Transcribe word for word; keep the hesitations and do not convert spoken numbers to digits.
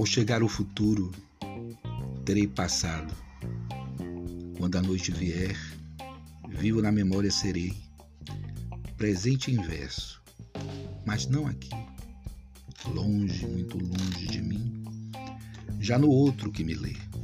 Ao chegar o futuro, terei passado. Quando a noite vier, vivo na memória serei. Presente em verso, mas não aqui, longe, muito longe de mim, já no outro que me lê.